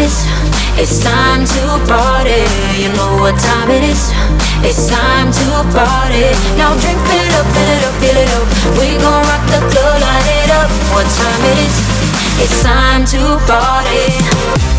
is. It's time to party. You know what time it is. It's time to party. Now drink, fill it up, fill it up, fill it up. We gon' rock the club, light it up. What time it is. It's time to party.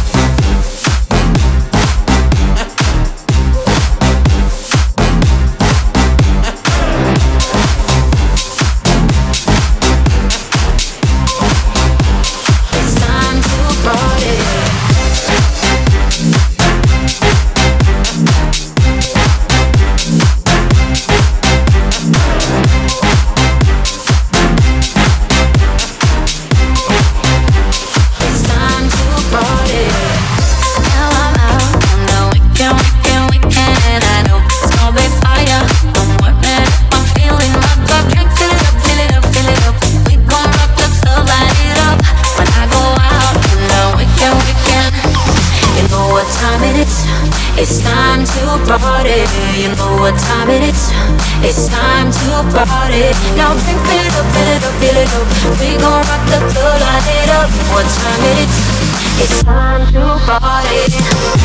It's time to party. You know what time it is. It's time to party. Now drink, fill it up, fill it up, fill it up. We gon' rock the club, light it up. What time it is. It's time to party.